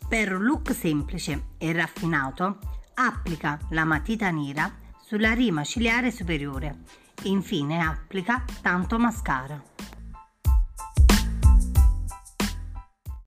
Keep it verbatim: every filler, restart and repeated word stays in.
Per un look semplice e raffinato, applica la matita nera sulla rima ciliare superiore e infine applica tanto mascara.